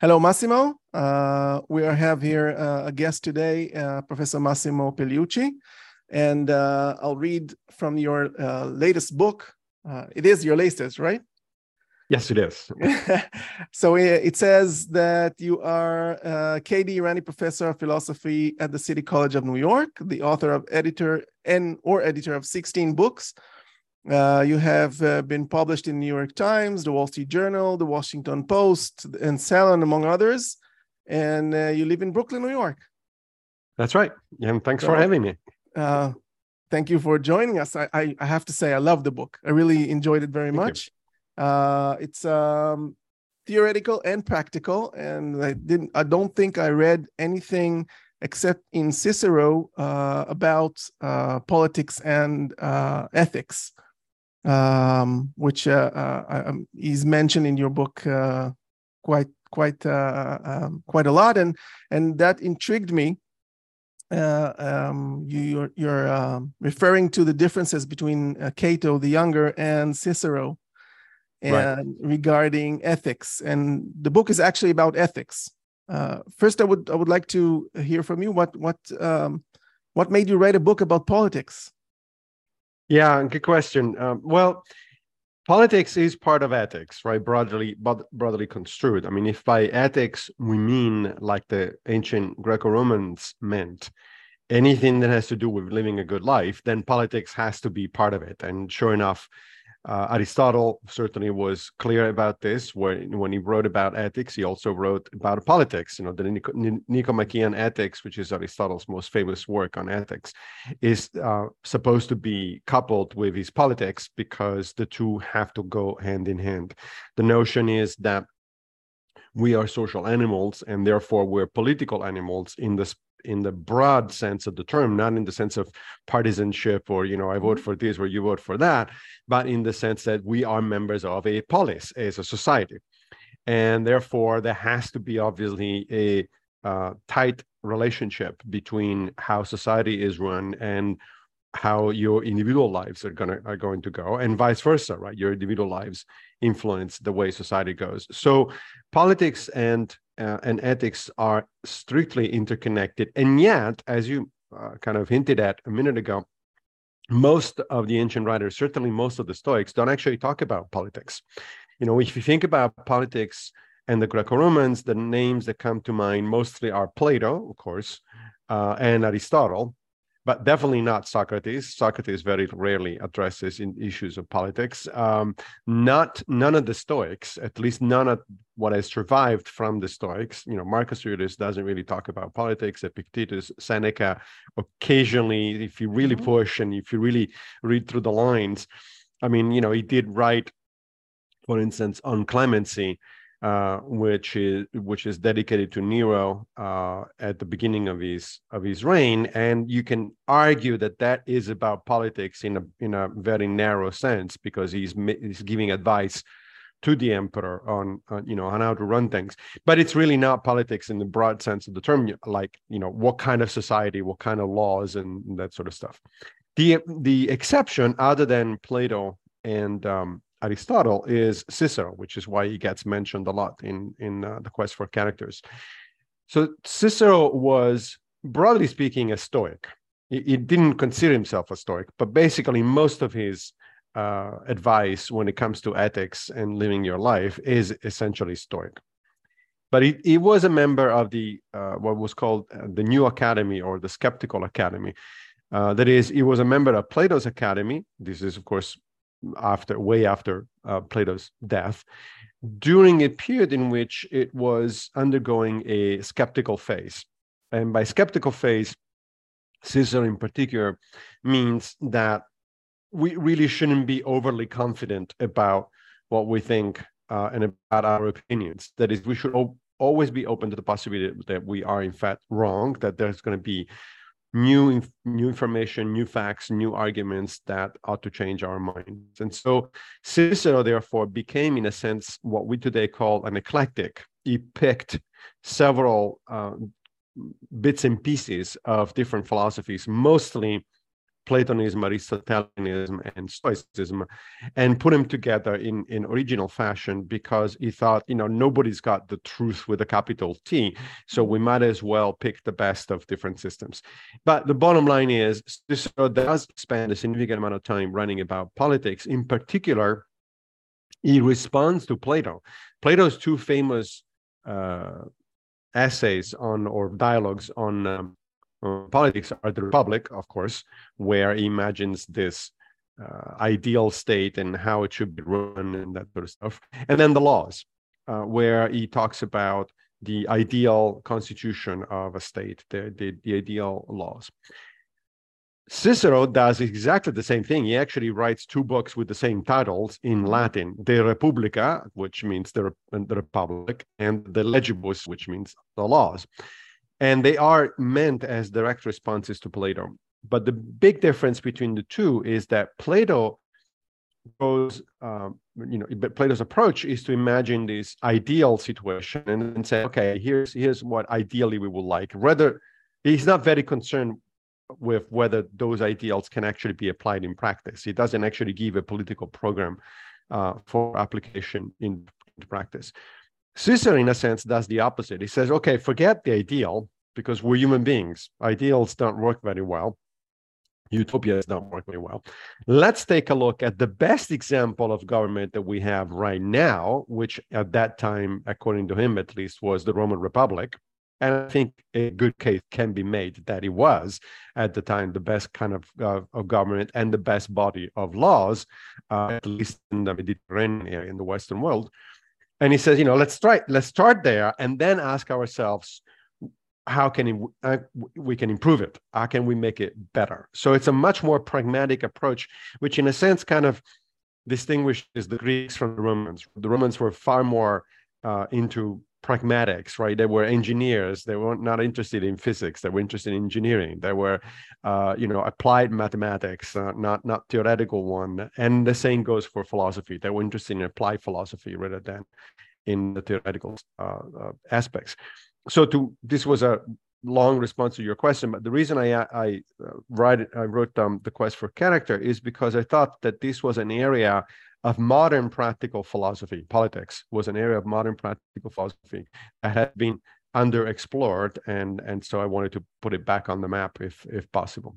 Hello, Massimo. We have here a guest today, Professor Massimo Pigliucci, and I'll read from your latest book. It is your latest, right? Yes, it is. So it says that you are K.D. Irani Professor of Philosophy at the City College of New York, the author of editor of 16 books. You have been published in New York Times, the Wall Street Journal, the Washington Post, and Salon, among others. And you live in Brooklyn, New York. That's right. And thanks for having me. Thank you for joining us. I have to say, I love the book. I really enjoyed it very much. It's theoretical and practical, and I don't think I read anything except in Cicero about politics and ethics. Which is mentioned in your book quite a lot, and that intrigued me. You're referring to the differences between Cato the Younger and Cicero, and regarding ethics, and the book is actually about ethics. First, I would like to hear from you what made you write a book about politics. Yeah, good question. Well, politics is part of ethics, right? Broadly construed. I mean, if by ethics we mean, like the ancient Greco-Romans meant, anything that has to do with living a good life, then politics has to be part of it. And sure enough, Aristotle certainly was clear about this. When he wrote about ethics, he also wrote about politics. You know, the Nicomachean Ethics, which is Aristotle's most famous work on ethics, is supposed to be coupled with his politics because the two have to go hand in hand. The notion is that we are social animals, and therefore we're political animals in the broad sense of the term, not in the sense of partisanship or, I vote for this or you vote for that, but in the sense that we are members of a polis, as a society. And therefore, there has to be obviously a tight relationship between how society is run and how your individual lives are going to go, and vice versa, right? Your individual lives influence the way society goes. So politics and ethics are strictly interconnected. And yet, as you kind of hinted at a minute ago, most of the ancient writers, certainly most of the Stoics, don't actually talk about politics. If you think about politics and the Greco-Romans, the names that come to mind mostly are Plato, of course, and Aristotle, but definitely not Socrates. Socrates very rarely addresses in issues of politics. None of the Stoics, at least none of what has survived from the Stoics. Marcus Aurelius doesn't really talk about politics. Epictetus, Seneca, occasionally, if you really push and if you really read through the lines, I mean, he did write, for instance, on clemency, which is dedicated to Nero at the beginning of his reign, and you can argue that is about politics in a very narrow sense, because he's giving advice to the emperor on how to run things. But it's really not politics in the broad sense of the term, like what kind of society, what kind of laws, and that sort of stuff. The exception, other than Plato and Aristotle, is Cicero, which is why he gets mentioned a lot in the Quest for Characters. So Cicero was, broadly speaking, a Stoic. He didn't consider himself a Stoic, but basically most of his advice when it comes to ethics and living your life is essentially Stoic. But he was a member of the what was called the New Academy, or the Skeptical Academy. That is, he was a member of Plato's Academy. This is, of course, way after Plato's death, during a period in which it was undergoing a skeptical phase. And by skeptical phase, Cicero in particular means that we really shouldn't be overly confident about what we think and about our opinions. That is, we should always be open to the possibility that we are in fact wrong, that there's going to be new information, new facts, new arguments that ought to change our minds. And so Cicero, therefore, became, in a sense, what we today call an eclectic. He picked several bits and pieces of different philosophies, mostly Platonism, Aristotelianism, and Stoicism, and put them together in original fashion because he thought, nobody's got the truth with a capital T, so we might as well pick the best of different systems. But the bottom line is, Cicero does spend a significant amount of time writing about politics. In particular, he responds to Plato. Plato's two famous essays or dialogues on politics are the Republic, of course, where he imagines this ideal state and how it should be run and that sort of stuff. And then the Laws, where he talks about the ideal constitution of a state, the ideal laws. Cicero does exactly the same thing. He actually writes two books with the same titles in Latin, De Republica, which means the Republic, and De Legibus, which means the laws. And they are meant as direct responses to Plato. But the big difference between the two is that Plato goes, Plato's approach is to imagine this ideal situation and then say, okay, here's what ideally we would like. Rather, he's not very concerned with whether those ideals can actually be applied in practice. He doesn't actually give a political program for application in practice. Cicero, in a sense, does the opposite. He says, okay, forget the ideal, because we're human beings. Ideals don't work very well. Utopias don't work very well. Let's take a look at the best example of government that we have right now, which at that time, according to him at least, was the Roman Republic. And I think a good case can be made that it was, at the time, the best kind of government and the best body of laws, at least in the Mediterranean area, in the Western world. And he says, let's start there and then ask ourselves, how can we can improve it? How can we make it better? So it's a much more pragmatic approach, which in a sense kind of distinguishes the Greeks from the Romans. The Romans were far more into pragmatics, right? They were engineers. They were not interested in physics. They were interested in engineering. They were, applied mathematics, not theoretical one. And the same goes for philosophy. They were interested in applied philosophy rather than in the theoretical aspects. So this was a long response to your question, but the reason I wrote the Quest for Character is because I thought that this was an area of modern practical philosophy. Politics was an area of modern practical philosophy that had been underexplored, and so I wanted to put it back on the map if possible.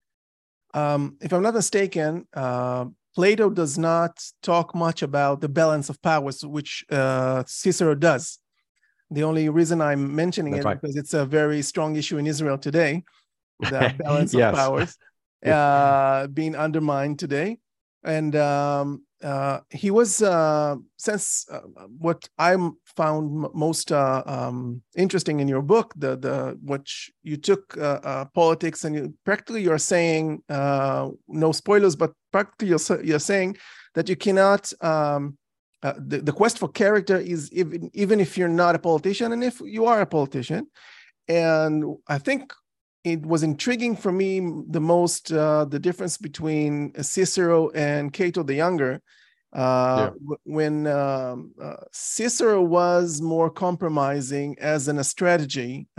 If I'm not mistaken, Plato does not talk much about the balance of powers, which Cicero does. The only reason I'm mentioning That's it right. because it's a very strong issue in Israel today, the balance of powers being undermined today. And he was, since what I found most interesting in your book, which you took politics and you're saying, no spoilers, but practically you're saying that you cannot, the quest for character is even if you're not a politician and if you are a politician. And I think it was intriguing for me the most, the difference between Cicero and Cato the Younger. When Cicero was more compromising as in a strategy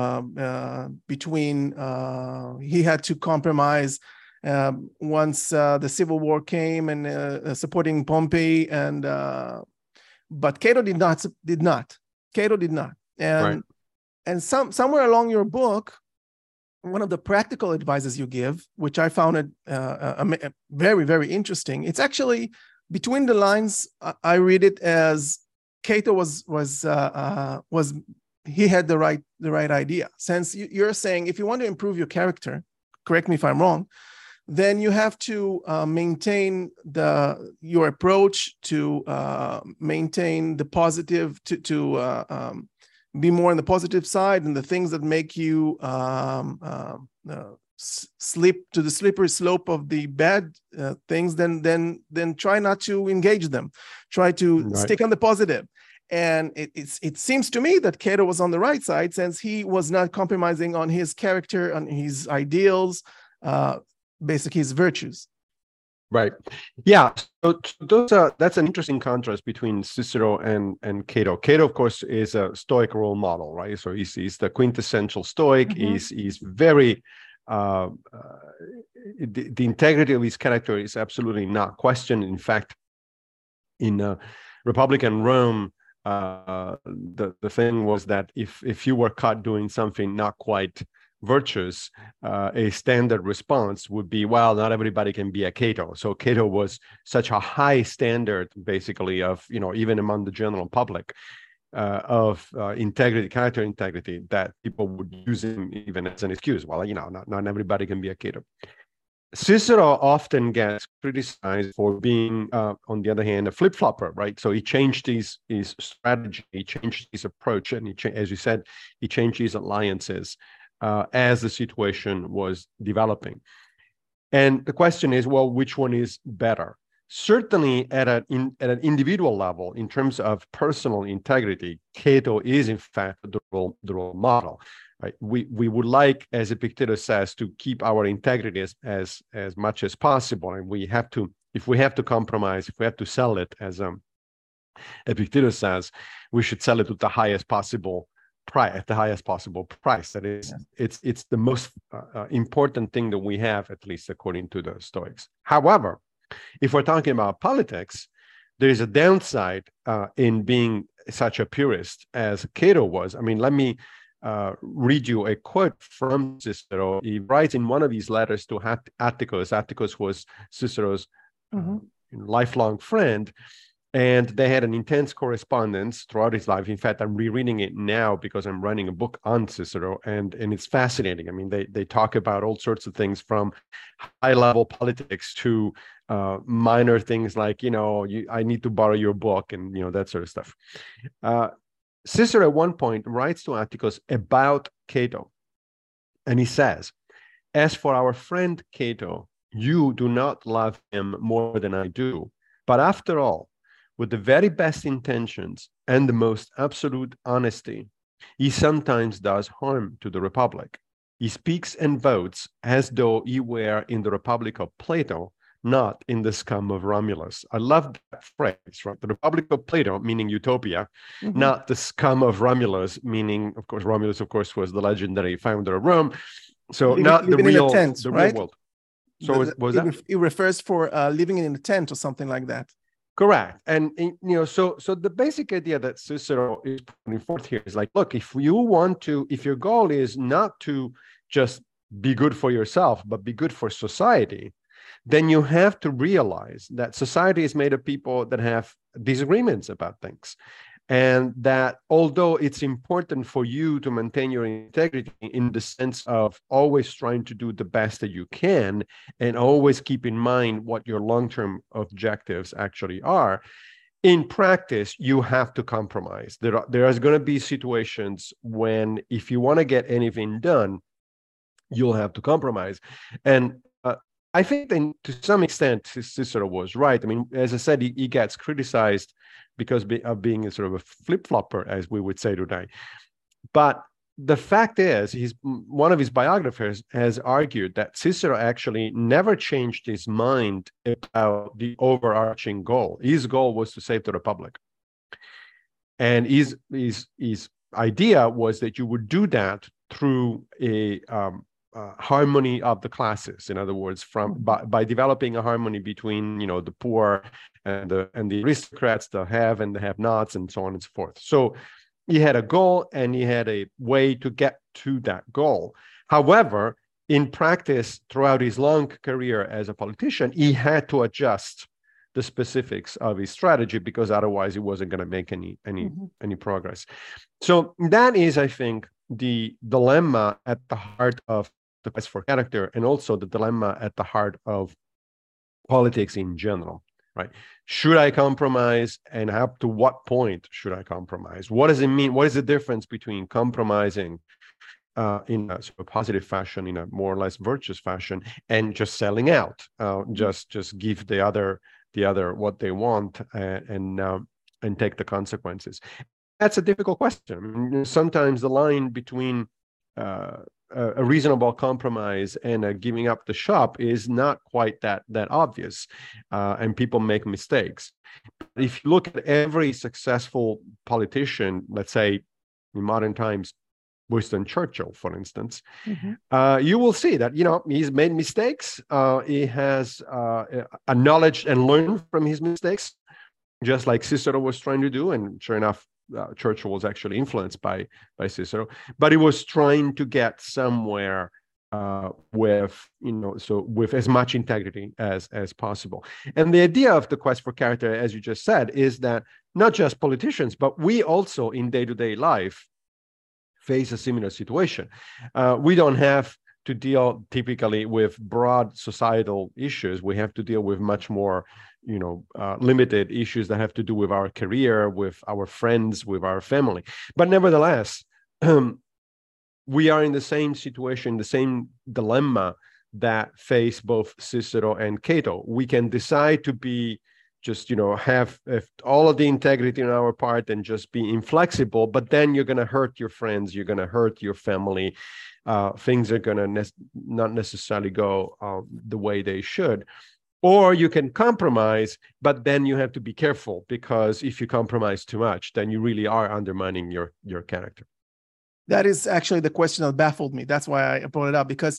between, he had to compromise once the Civil War came and supporting Pompey, and but Cato did not. Cato did not. And somewhere along your book, one of the practical advices you give, which I found it very, very interesting. It's actually between the lines. I read it as Cato was he had the right idea. Since you're saying if you want to improve your character, correct me if I'm wrong, then you have to maintain your approach to maintain the positive, to be more on the positive side, and the things that make you slip to the slippery slope of the bad things, then try not to engage them. Try to stick on the positive. And it seems to me that Cato was on the right side, since he was not compromising on his character, on his ideals, basically his virtues. Right. Yeah. So that's an interesting contrast between Cicero and Cato. Cato, of course, is a Stoic role model, right? So he's the quintessential Stoic. Mm-hmm. He's very the integrity of his character is absolutely not questioned. In fact, in Republican Rome, the thing was that if you were caught doing something not quite virtuous, a standard response would be, well, not everybody can be a Cato. So Cato was such a high standard, basically, of, even among the general public, of integrity, character integrity, that people would use him even as an excuse. Well, not everybody can be a Cato. Cicero often gets criticized for being, on the other hand, a flip-flopper, right? So he changed his strategy, he changed his approach, and as you said, he changed his alliances as the situation was developing. And the question is, well, which one is better? Certainly at an individual level, in terms of personal integrity, Cato is in fact the role model. Right? We would like, as Epictetus says, to keep our integrity as much as possible, and we have to, if we have to compromise, if we have to sell it, as Epictetus says, we should sell it at the highest possible price. That is, yes. It's the most important thing that we have, at least according to the Stoics. However, if we're talking about politics, there is a downside in being such a purist as Cato was. I mean, let me read you a quote from Cicero. He writes in one of his letters to Atticus. Atticus was Cicero's lifelong friend, and they had an intense correspondence throughout his life. In fact, I'm rereading it now because I'm writing a book on Cicero, and it's fascinating. I mean, they talk about all sorts of things, from high-level politics to minor things like, I need to borrow your book, and that sort of stuff. Cicero at one point writes to Atticus about Cato, and he says, "As for our friend Cato, you do not love him more than I do, but after all, with the very best intentions and the most absolute honesty, he sometimes does harm to the Republic. He speaks and votes as though he were in the Republic of Plato, not in the scum of Romulus." I love that phrase, right? The Republic of Plato, meaning utopia, not the scum of Romulus, meaning, of course, Romulus, of course, was the legendary founder of Rome. So not the real, the real world. So it refers for living in a tent or something like that. Correct. And, so the basic idea that Cicero is putting forth here is like, look, if your goal is not to just be good for yourself, but be good for society, then you have to realize that society is made of people that have disagreements about things. And that although it's important for you to maintain your integrity in the sense of always trying to do the best that you can and always keep in mind what your long-term objectives actually are, in practice, you have to compromise. There is going to be situations when, if you want to get anything done, you'll have to compromise. And I think that to some extent, Cicero was right. I mean, as I said, he gets criticized because of being a sort of a flip-flopper, as we would say today. But the fact is, one of his biographers has argued that Cicero actually never changed his mind about the overarching goal. His goal was to save the Republic. And his idea was that you would do that through a harmony of the classes. In other words, by developing a harmony between the poor and the aristocrats, the have and the have-nots, and so on and so forth. So he had a goal and he had a way to get to that goal. However, in practice, throughout his long career as a politician, he had to adjust the specifics of his strategy, because otherwise he wasn't going to make any progress. So that is, I think, the dilemma at the heart of the quest for character, and also the dilemma at the heart of politics in general, right? Should I compromise, and up to what point should I compromise? What does it mean? What is the difference between compromising in a sort of positive fashion, in a more or less virtuous fashion, and just selling out, just give the other what they want, and take the consequences? That's a difficult question. I mean, sometimes the line between a reasonable compromise and giving up the shop is not quite that obvious, and people make mistakes. But if you look at every successful politician, let's say in modern times, Winston Churchill, for instance, Mm-hmm. you will see that, he's made mistakes. He has acknowledged and learned from his mistakes, just like Cicero was trying to do. And sure enough, Churchill was actually influenced by Cicero, but he was trying to get somewhere with as much integrity as possible. And the idea of the quest for character, as you just said, is that not just politicians, but we also in day-to-day life face a similar situation. We don't have to deal typically with broad societal issues. We have to deal with much more, limited issues that have to do with our career, with our friends, with our family. But nevertheless, we are in the same situation, the same dilemma that face both Cicero and Cato. We can decide to be just, have all of the integrity on our part and just be inflexible, but then you're going to hurt your friends, you're going to hurt your family. Things are going to not necessarily go the way they should. Or you can compromise, but then you have to be careful, because if you compromise too much, then you really are undermining your character. That is actually the question that baffled me. That's why I brought it up, because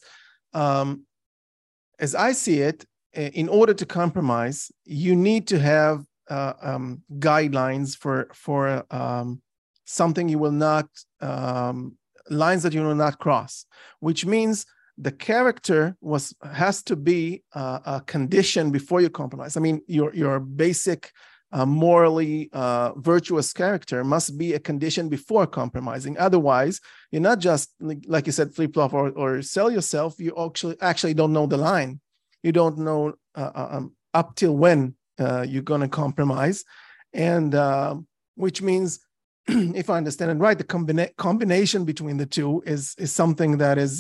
as I see it, in order to compromise, you need to have guidelines for something you will not, lines that you will not cross, which means the character has to be a condition before you compromise. I mean, your basic morally virtuous character must be a condition before compromising. Otherwise, you're not just, like you said, flip-flop or sell yourself. You actually don't know the line. You don't know up till when you're going to compromise. And which means, if I understand it right, the combination between the two is something that is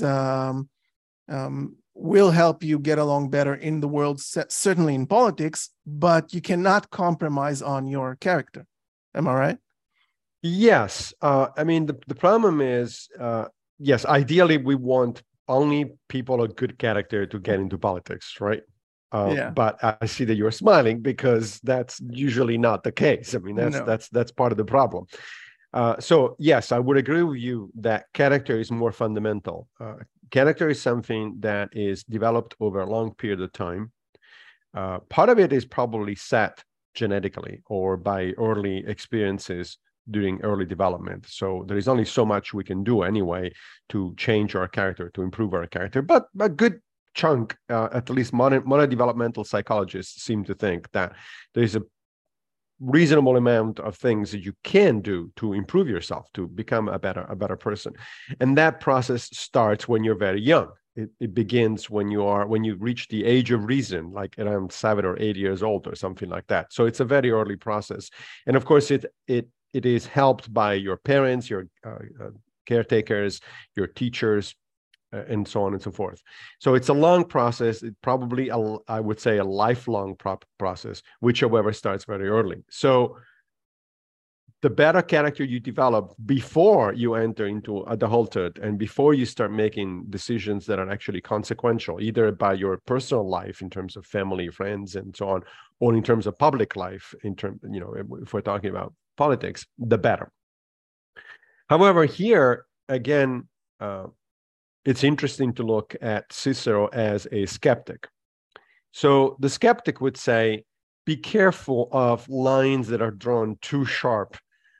will help you get along better in the world, certainly in politics, but you cannot compromise on your character. Am I right? Yes. I mean, the problem is, yes, ideally we want only people of good character to get into politics, right? Yeah. But I see that you're smiling, because that's usually not the case. I mean, that's part of the problem. So yes, I would agree with you that character is more fundamental. Character is something that is developed over a long period of time. Part of it is probably set genetically or by early experiences during early development. So there is only so much we can do anyway to change our character, to improve our character. But a good chunk, at least modern developmental psychologists seem to think that there is a reasonable amount of things that you can do to improve yourself, to become a better person. And that process starts when you're very young. It begins when you reach the age of reason, like around 7 or 8 years old or something like that. So it's a very early process. And of course, it is helped by your parents, your caretakers, your teachers, and so on and so forth. So it's a long process. It probably, I would say, a lifelong process, which, however, starts very early. So the better character you develop before you enter into adulthood and before you start making decisions that are actually consequential, either by your personal life in terms of family, friends, and so on, or in terms of public life, if we're talking about politics, the better. However, here, again, it's interesting to look at Cicero as a skeptic. So the skeptic would say, be careful of lines that are drawn too sharply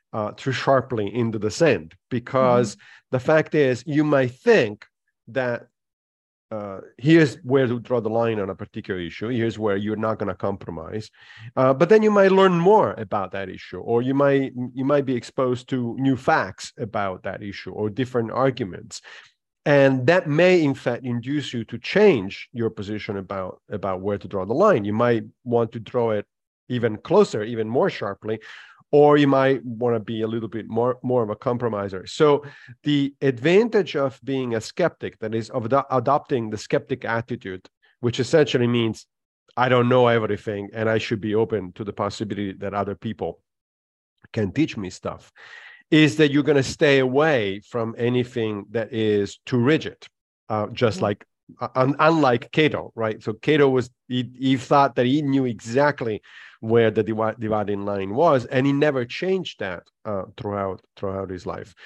into the sand, because the fact is, you might think that here's where to draw the line on a particular issue. Here's where you're not going to compromise. But then you might learn more about that issue, or you might be exposed to new facts about that issue or different arguments. And that may, in fact, induce you to change your position about where to draw the line. You might want to draw it even closer, even more sharply, or you might want to be a little bit more of a compromiser. So the advantage of being a skeptic, that is, of adopting the skeptic attitude, which essentially means I don't know everything and I should be open to the possibility that other people can teach me stuff, is that you're going to stay away from anything that is too rigid, just like, unlike Cato, right? So Cato he thought that he knew exactly where the dividing line was, and he never changed that throughout his life.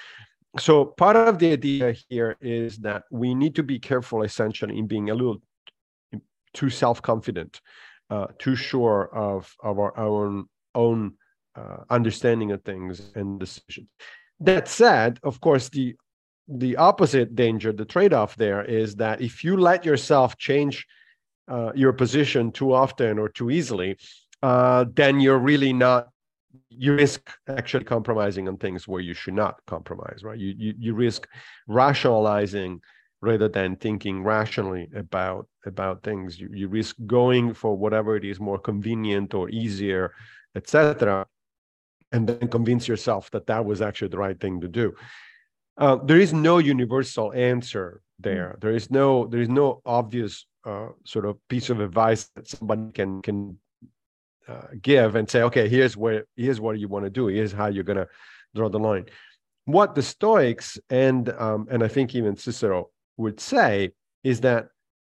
So part of the idea here is that we need to be careful, essentially, in being a little too self-confident, too sure of our own understanding of things and decisions. That said, of course, the opposite danger, the trade-off there is that if you let yourself change your position too often or too easily, then you're really not, you risk actually compromising on things where you should not compromise, right? You risk rationalizing rather than thinking rationally about things. You risk going for whatever it is more convenient or easier, etc., and then convince yourself that that was actually the right thing to do. There is no universal answer there. There is no obvious sort of piece of advice that somebody can give and say, okay, here's what you want to do. Here's how you're going to draw the line. What the Stoics and I think even Cicero would say is that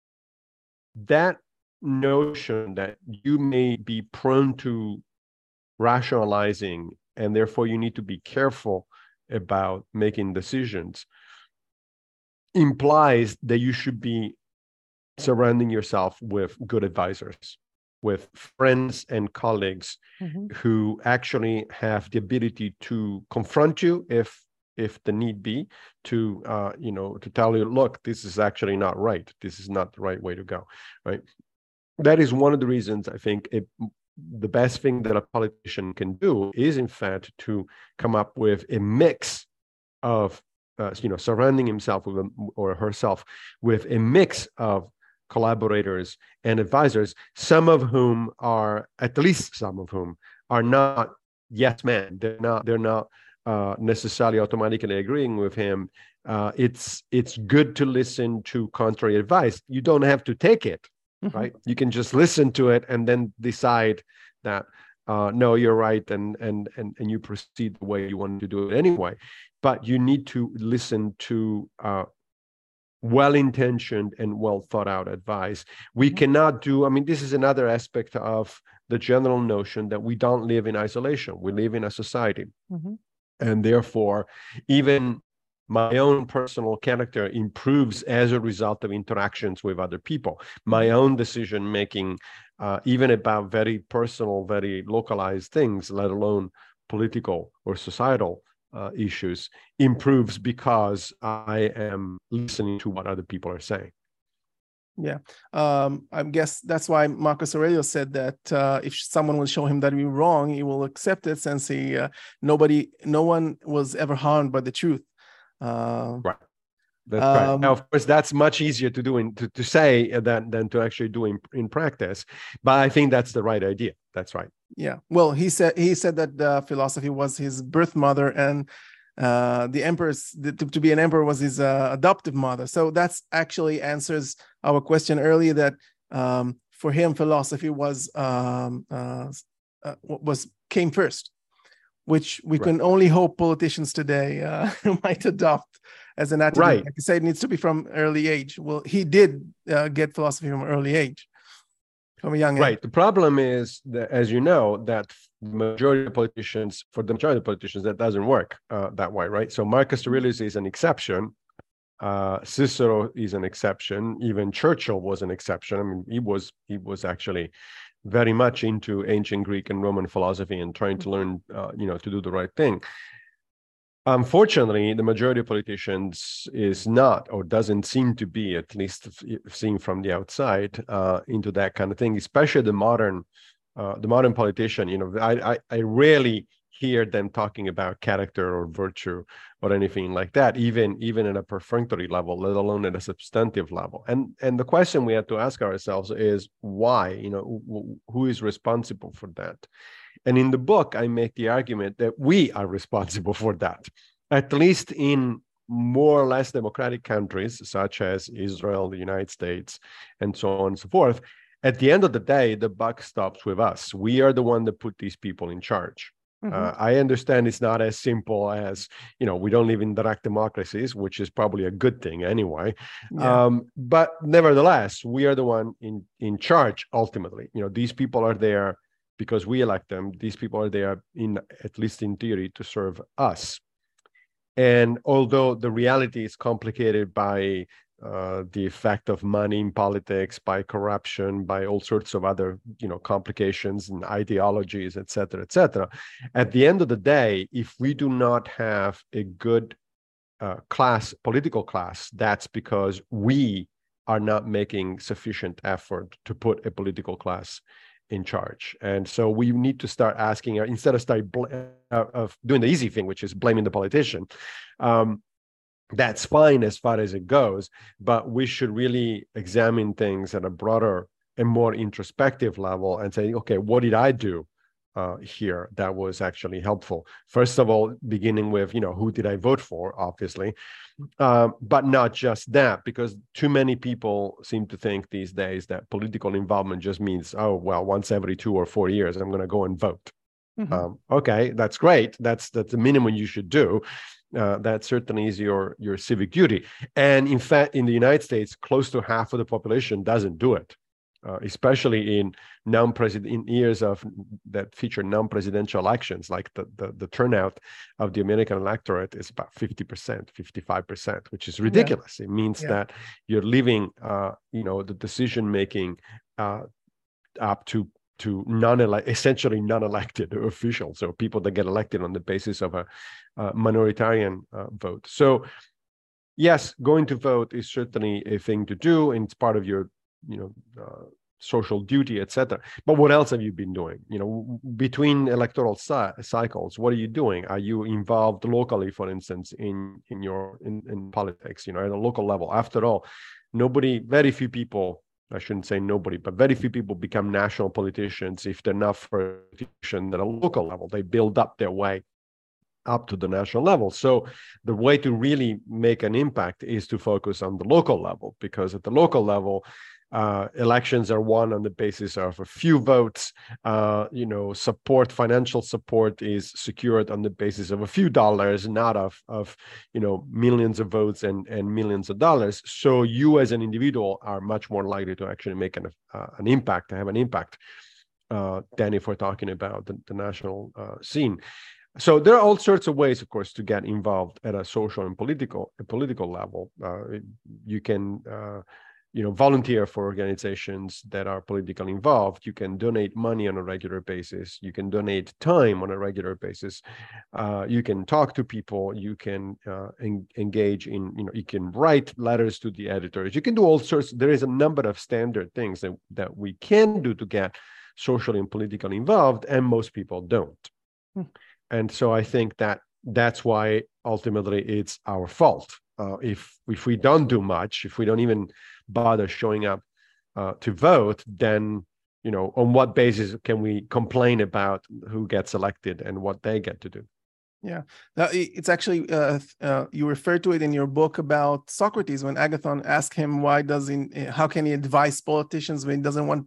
notion that you may be prone to rationalizing and therefore you need to be careful about making decisions implies that you should be surrounding yourself with good advisors, with friends and colleagues who actually have the ability to confront you if the need be, to to tell you, look, this is actually not right. This is not the right way to go, right? That is one of the reasons I think the best thing that a politician can do is, in fact, to come up with a mix of, surrounding himself with or herself with a mix of collaborators and advisors, at least some of whom are not yes men. They're not necessarily automatically agreeing with him. It's good to listen to contrary advice. You don't have to take it, right? You can just listen to it and then decide that no, you're right, and you proceed the way you want to do it anyway. But you need to listen to well-intentioned and well-thought-out advice. We cannot do, this is another aspect of the general notion that we don't live in isolation. We live in a society. And therefore, even my own personal character improves as a result of interactions with other people. My own decision-making, even about very personal, very localized things, let alone political or societal issues, improves because I am listening to what other people are saying. Yeah, I guess that's why Marcus Aurelius said that if someone will show him that we're wrong, he will accept it, since no one was ever harmed by the truth. Right. That's right. Now, of course, that's much easier to do to say than to actually do in practice. But I think that's the right idea. That's right. Yeah. Well, he said that philosophy was his birth mother, and the emperor's to be an emperor was his adoptive mother. So that's actually answers our question earlier, that for him philosophy came first, which we can only hope politicians today might adopt as an attitude. Right. Like you say, it needs to be from early age. Well, he did get philosophy from early age, from a young age. Right. The problem is that, as you know, that for the majority of politicians, that doesn't work that way, right? So Marcus Aurelius is an exception. Cicero is an exception. Even Churchill was an exception. He was actually very much into ancient Greek and Roman philosophy and trying to learn, to do the right thing. Unfortunately, the majority of politicians is not, or doesn't seem to be, at least seen from the outside, into that kind of thing. Especially the modern politician. I rarely hear them talking about character or virtue or anything like that, even at a perfunctory level, let alone at a substantive level. And the question we have to ask ourselves is why? Who is responsible for that? And in the book, I make the argument that we are responsible for that, at least in more or less democratic countries, such as Israel, the United States, and so on and so forth. At the end of the day, the buck stops with us. We are the one that put these people in charge. I understand it's not as simple as, we don't live in direct democracies, which is probably a good thing anyway. Yeah. But nevertheless, we are the one in charge ultimately. These people are there because we elect them. These people are there, at least in theory, to serve us. And although the reality is complicated by the effect of money in politics, by corruption, by all sorts of other, complications and ideologies, et cetera, et cetera. At the end of the day, if we do not have a good political class, that's because we are not making sufficient effort to put a political class in charge. And so we need to start asking, instead of of doing the easy thing, which is blaming the politician, that's fine as far as it goes, but we should really examine things at a broader and more introspective level and say, okay, what did I do here that was actually helpful? First of all, beginning with, who did I vote for, obviously, but not just that, because too many people seem to think these days that political involvement just means, oh, well, once every 2 or 4 years, I'm going to go and vote. Mm-hmm. Okay, that's great. That's the minimum you should do. That certainly is your civic duty. And in fact, in the United States, close to half of the population doesn't do it, especially in years that feature non-presidential elections. Like the turnout of the American electorate is about 50%, 55%, which is ridiculous. Yeah. It means that you're leaving, the decision making up to essentially non-elected officials, so people that get elected on the basis of a minoritarian vote. So yes, going to vote is certainly a thing to do, and it's part of your social duty, etc. But what else have you been doing? Between electoral cycles, what are you doing? Are you involved locally, for instance, in politics, at a local level? After all, very few people, I shouldn't say nobody, but very few people become national politicians if they're not for a politician at a local level. They build up their way up to the national level. So the way to really make an impact is to focus on the local level, because at the local level, elections are won on the basis of a few votes. Financial support is secured on the basis of a few dollars, not of millions of votes and millions of dollars. So you as an individual are much more likely to actually make have an impact than if we're talking about the national scene. So there are all sorts of ways, of course, to get involved at a social and political level. You can volunteer for organizations that are politically involved. You can donate money on a regular basis. You can donate time on a regular basis. You can talk to people. You can engage in, you can write letters to the editors. You can do all sorts. There is a number of standard things that we can do to get socially and politically involved, and most people don't. And so I think that's why ultimately it's our fault. If we don't do much, if we don't even bother showing up to vote, then on what basis can we complain about who gets elected and what they get to do? Yeah, it's actually you refer to it in your book about Socrates, when Agathon asked him how can he advise politicians when he doesn't want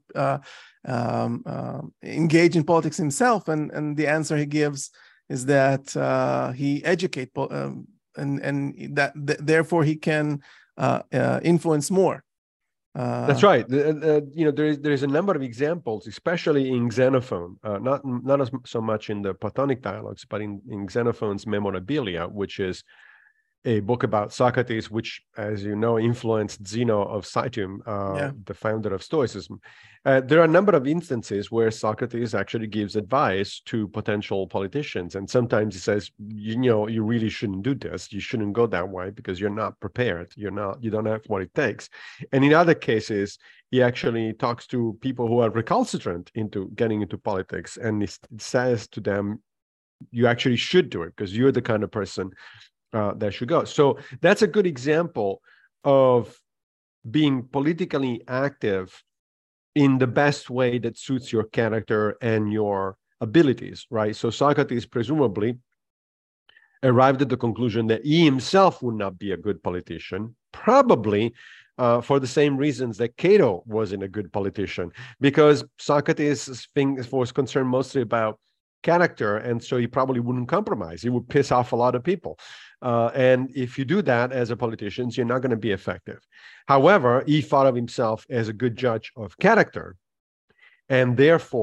engage in politics himself, and the answer he gives is that he educate and that therefore he can influence more. That's right. There is a number of examples, especially in Xenophon, not so much in the Platonic dialogues, but in Xenophon's Memorabilia, which is a book about Socrates, which, as you know, influenced Zeno of Citium, the founder of Stoicism. There are a number of instances where Socrates actually gives advice to potential politicians. And sometimes he says, you really shouldn't do this. You shouldn't go that way because you're not prepared. You don't have what it takes. And in other cases, he actually talks to people who are recalcitrant into getting into politics. And he says to them, you actually should do it because you're the kind of person that should go. So that's a good example of being politically active in the best way that suits your character and your abilities, right? So Socrates presumably arrived at the conclusion that he himself would not be a good politician, probably for the same reasons that Cato wasn't a good politician, because Socrates' thing was concerned mostly about character, and so he probably wouldn't compromise. He would piss off a lot of people. And if you do that as a politician, you're not going to be effective. However, he thought of himself as a good judge of character, and therefore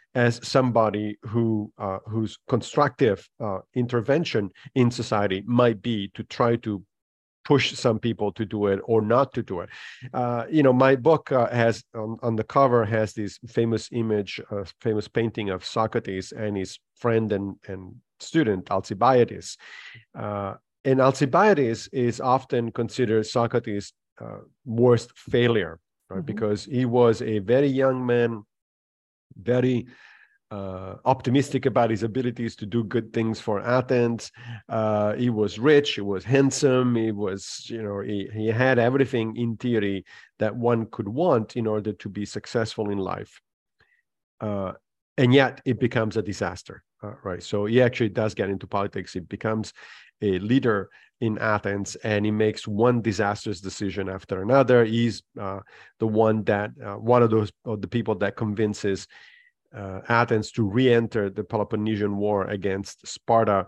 as somebody whose constructive intervention in society might be to try to push some people to do it or not to do it. My book has on the cover has this famous image, famous painting of Socrates and his friend and student Alcibiades. And Alcibiades is often considered Socrates' worst failure, right? Because he was a very young man, very optimistic about his abilities to do good things for Athens. He was rich, he was handsome, he was, he had everything in theory that one could want in order to be successful in life. And yet it becomes a disaster, right? So he actually does get into politics. He becomes a leader in Athens, and he makes one disastrous decision after another. He's the one that, one of the people that convinces Athens to re-enter the Peloponnesian War against Sparta,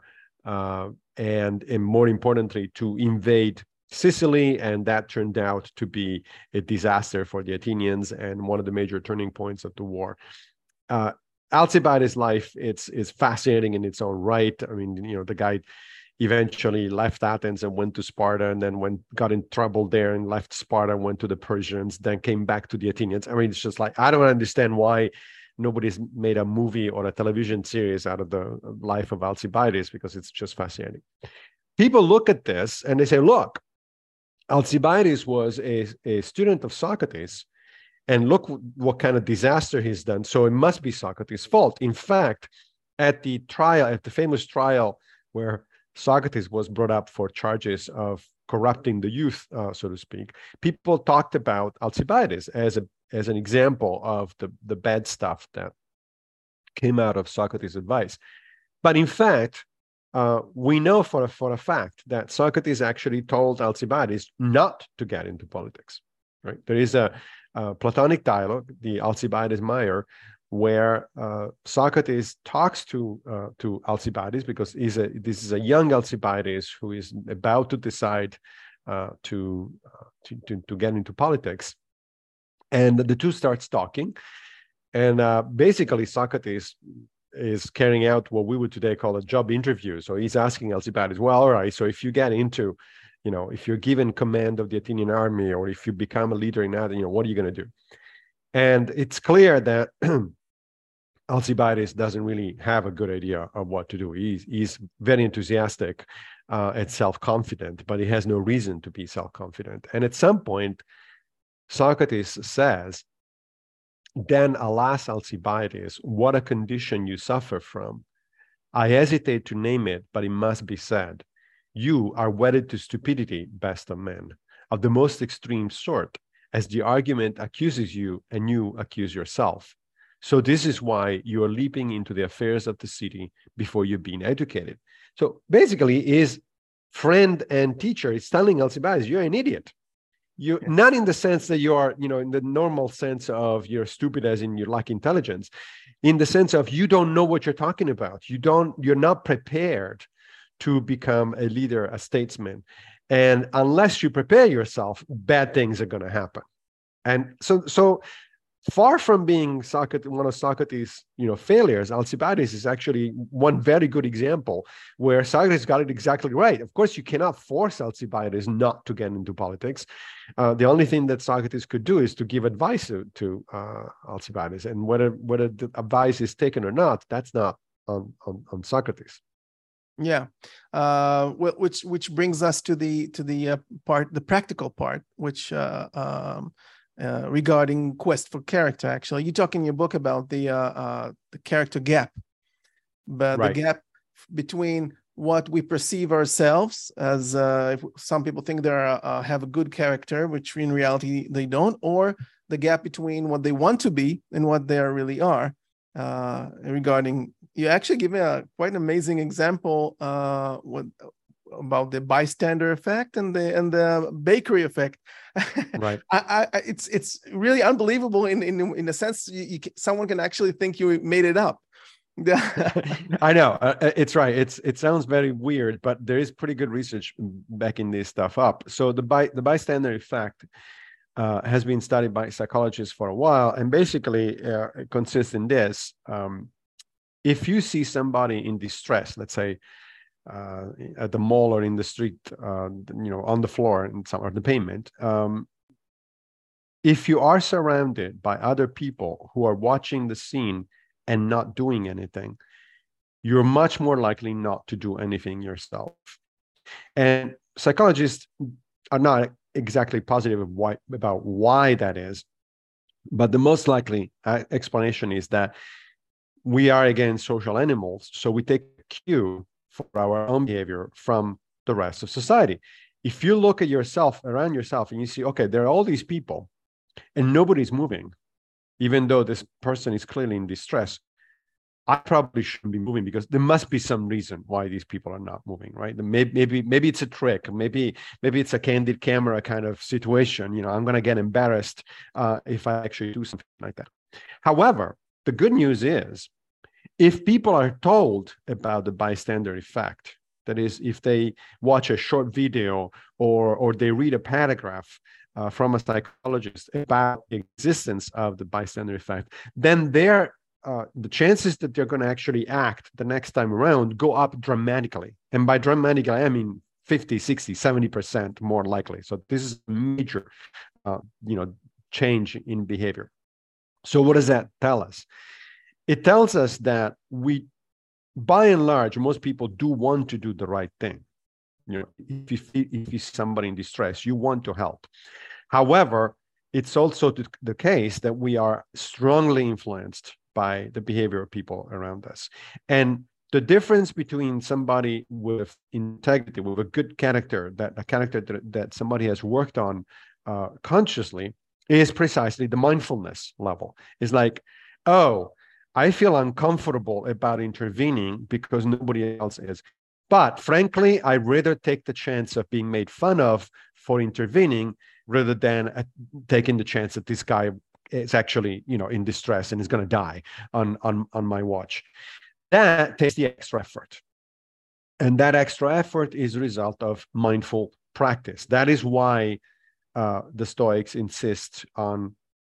and more importantly, to invade Sicily, and that turned out to be a disaster for the Athenians and one of the major turning points of the war. Alcibiades' life is fascinating in its own right. I mean, the guy eventually left Athens and went to Sparta, and then got in trouble there and left Sparta, went to the Persians, then came back to the Athenians. I mean, it's just like, I don't understand why nobody's made a movie or a television series out of the life of Alcibiades, because it's just fascinating. People look at this and they say, look, Alcibiades was a student of Socrates, and look what kind of disaster he's done. So it must be Socrates' fault. In fact, at the famous trial where Socrates was brought up for charges of corrupting the youth, so to speak, people talked about Alcibiades as an example of the bad stuff that came out of Socrates' advice. But in fact, we know for a fact that Socrates actually told Alcibiades not to get into politics, right? There is a Platonic dialogue, the Alcibiades-Meyer, where Socrates talks to Alcibiades, because this is a young Alcibiades who is about to decide to get into politics. And the two starts talking, and basically Socrates is carrying out what we would today call a job interview. So he's asking Alcibiades, well, all right, so if you get into, if you're given command of the Athenian army, or if you become a leader in Athens, what are you going to do? And it's clear that Alcibiades doesn't really have a good idea of what to do. He's very enthusiastic and self-confident, but he has no reason to be self-confident. And at some point, Socrates says, then alas, Alcibiades, what a condition you suffer from. I hesitate to name it, but it must be said. You are wedded to stupidity, best of men, of the most extreme sort, as the argument accuses you and you accuse yourself. So this is why you are leaping into the affairs of the city before you've been educated. So basically, his friend and teacher is telling Alcibiades, you're an idiot. You not in the sense that you are, in the normal sense of you're stupid as in you lack intelligence, in the sense of you don't know what you're talking about. You're not prepared to become a leader, a statesman. And unless you prepare yourself, bad things are going to happen. And so far from being one of Socrates' failures, Alcibiades is actually one very good example where Socrates got it exactly right. Of course, you cannot force Alcibiades not to get into politics. The only thing that Socrates could do is to give advice to Alcibiades, and whether the advice is taken or not, that's not on Socrates. Yeah, which brings us to the practical part, which regarding quest for character. Actually, you talk in your book about the character gap, but right. The gap between what we perceive ourselves as, if some people think they have a good character, which in reality they don't, or the gap between what they want to be and what they really are. Regarding, you actually give me a quite an amazing example about the bystander effect and the bakery effect. Right. It's really unbelievable in a sense. Someone can actually think you made it up. I know, it's right. It sounds very weird, but there is pretty good research backing this stuff up. So the bystander effect has been studied by psychologists for a while, and basically it consists in this. If you see somebody in distress, let's say at the mall or in the street, on the floor or the pavement, if you are surrounded by other people who are watching the scene and not doing anything, you're much more likely not to do anything yourself. And psychologists are not exactly positive about why that is, but the most likely explanation is that we are, again, social animals, so we take cue for our own behavior from the rest of society. If you look at yourself, around yourself, and you see, okay, there are all these people and nobody's moving, even though this person is clearly in distress, I probably shouldn't be moving because there must be some reason why these people are not moving, right? Maybe it's a trick. Maybe it's a candid camera kind of situation. I'm going to get embarrassed if I actually do something like that. However, the good news is, if people are told about the bystander effect, that is, if they watch a short video or they read a paragraph from a psychologist about the existence of the bystander effect, then the chances that they're going to actually act the next time around go up dramatically. And by dramatically, I mean 50, 60, 70% more likely. So this is a major, change in behavior. So what does that tell us? It tells us that by and large, most people do want to do the right thing. If you see somebody in distress, you want to help. However, it's also the case that we are strongly influenced by the behavior of people around us. And the difference between somebody with integrity, with a good character, that somebody has worked on consciously, is precisely the mindfulness level. It's like, oh, I feel uncomfortable about intervening because nobody else is. But frankly, I'd rather take the chance of being made fun of for intervening rather than taking the chance that this guy is actually, in distress and is going to die on my watch. That takes the extra effort. And that extra effort is a result of mindful practice. That is why the Stoics insist on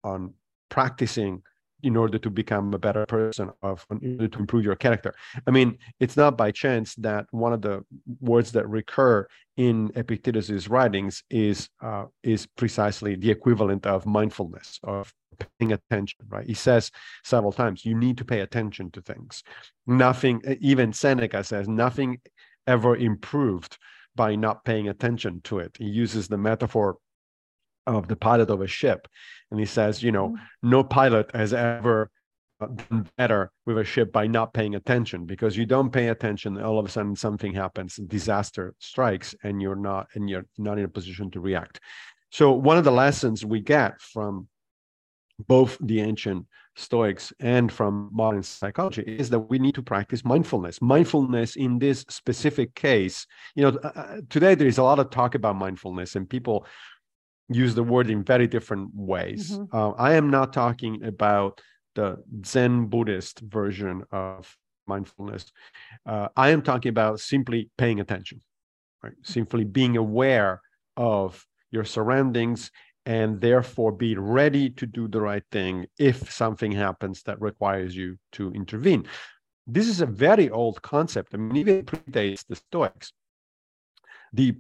practicing in order to become a better person, in order to improve your character. I mean, it's not by chance that one of the words that recur in Epictetus's writings is precisely the equivalent of mindfulness, of paying attention, right? He says several times, you need to pay attention to things. Nothing, even Seneca says, nothing ever improved by not paying attention to it. He uses the metaphor of the pilot of a ship. And he says, no pilot has ever done better with a ship by not paying attention, because you don't pay attention, all of a sudden something happens, disaster strikes, and you're not in a position to react. So one of the lessons we get from both the ancient Stoics and from modern psychology is that we need to practice mindfulness. Mindfulness in this specific case, today there is a lot of talk about mindfulness, and people use the word in very different ways. Mm-hmm. I am not talking about the Zen Buddhist version of mindfulness. I am talking about simply paying attention, right? Simply being aware of your surroundings and therefore be ready to do the right thing if something happens that requires you to intervene. This is a very old concept. I mean, even predates the Stoics. The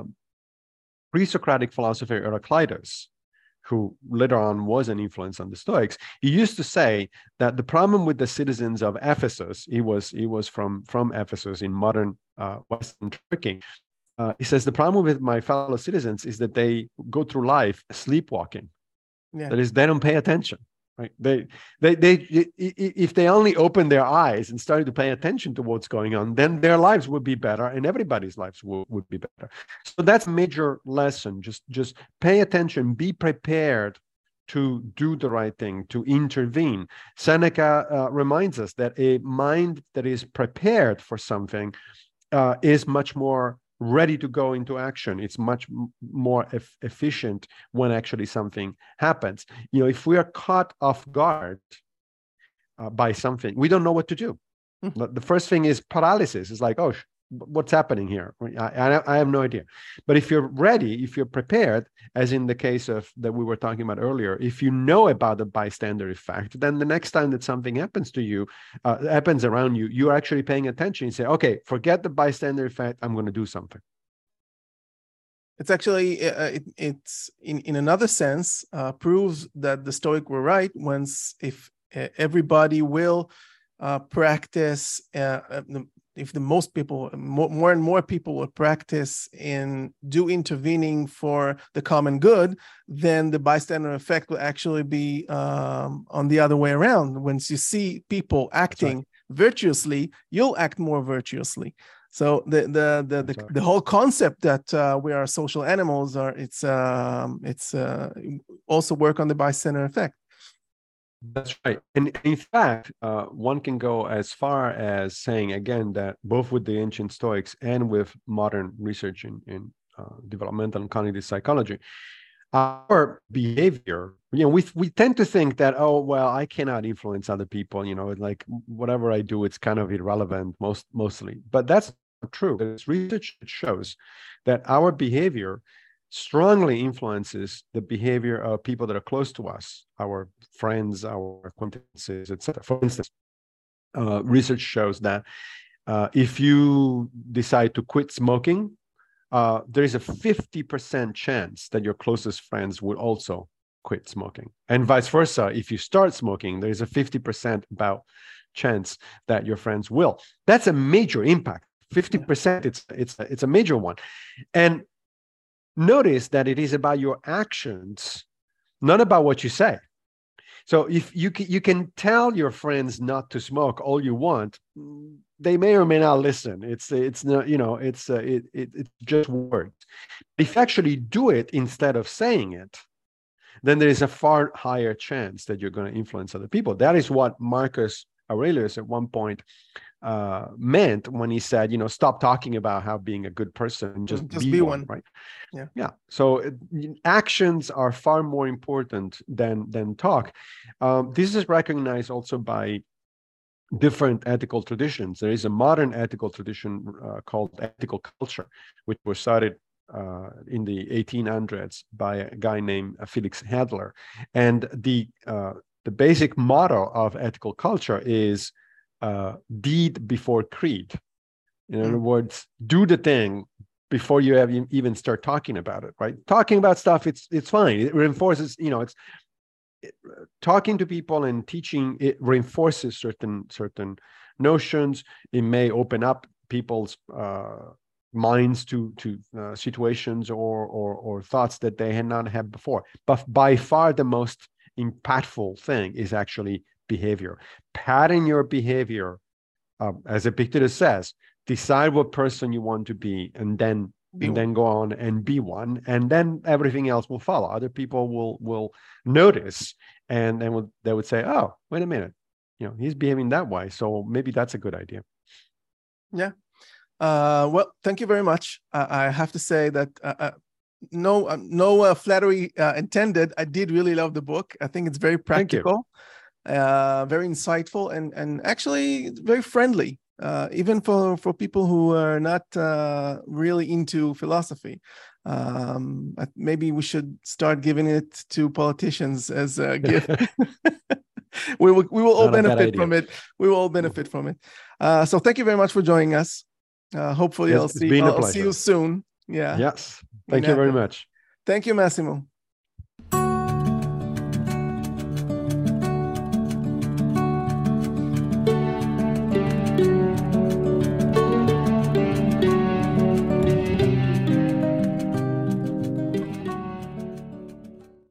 pre-Socratic philosopher Heraclitus, who later on was an influence on the Stoics, he used to say that the problem with the citizens of Ephesus, he was from Ephesus in modern Western Turkey. He says, the problem with my fellow citizens is that they go through life sleepwalking. Yeah. That is, they don't pay attention, right? They if they only open their eyes and started to pay attention to what's going on, then their lives would be better, and everybody's lives would be better. So that's a major lesson. Just pay attention, be prepared to do the right thing, to intervene. Seneca reminds us that a mind that is prepared for something is much more ready to go into action. It's much more efficient when actually something happens. If we are caught off guard by something, we don't know what to do. Mm-hmm. The first thing is paralysis. It's like, oh, what's happening here? I have no idea. But if you're ready, if you're prepared, as in the case of that we were talking about earlier, if you know about the bystander effect, then the next time that something happens to you, happens around you, you're actually paying attention. You say, okay, forget the bystander effect. I'm going to do something. It's actually, it's in another sense, proves that the Stoic were right if everybody will practice, if the most people, more and more people will practice and do intervening for the common good, then the bystander effect will actually be on the other way around. Once you see people acting virtuously, you'll act more virtuously. So the whole concept that we are social animals it's also work on the bystander effect. That's right. And in fact, one can go as far as saying, again, that both with the ancient Stoics and with modern research in developmental and cognitive psychology, our behavior, we tend to think that, oh, well, I cannot influence other people, like whatever I do, it's kind of irrelevant mostly. But that's not true. There's research that shows that our behavior strongly influences the behavior of people that are close to us, our friends, our acquaintances, etc. For instance, research shows that if you decide to quit smoking, there is a 50% chance that your closest friends will also quit smoking. And vice versa, if you start smoking, there is a 50% chance that your friends will. That's a major impact. 50%, it's a major one. And notice that it is about your actions, not about what you say. So if you can tell your friends not to smoke all you want, they may or may not listen. It's not, it's just words. If you actually do it instead of saying it, then there is a far higher chance that you're going to influence other people. That is what Marcus Aurelius at one point meant when he said, stop talking about how being a good person, just be one, right? Yeah. So actions are far more important than talk. This is recognized also by different ethical traditions. There is a modern ethical tradition called ethical culture, which was started in the 1800s by a guy named Felix Adler. And the basic motto of ethical culture is deed before creed. In other words, do the thing before you even start talking about it, right? Talking about stuff, it's fine. It reinforces, talking to people and teaching, it reinforces certain notions. It may open up people's minds to situations or thoughts that they had not had before. But by far the most impactful thing is actually behavior. Pattern your behavior, as Epictetus says, decide what person you want to be, and then go on and be one, and then everything else will follow. Other people will notice, and then they would say, oh, wait a minute, he's behaving that way, so maybe that's a good idea. Yeah. Well, thank you very much. I have to say that no flattery intended. I did really love the book. I think it's very practical, very insightful, and actually very friendly, even for people who are not really into philosophy. Maybe we should start giving it to politicians as a gift. we will all benefit from it. We will all benefit from it. So thank you very much for joining us. Hopefully I'll see you soon. Yeah. Yes. Thank you very much. Thank you, Massimo.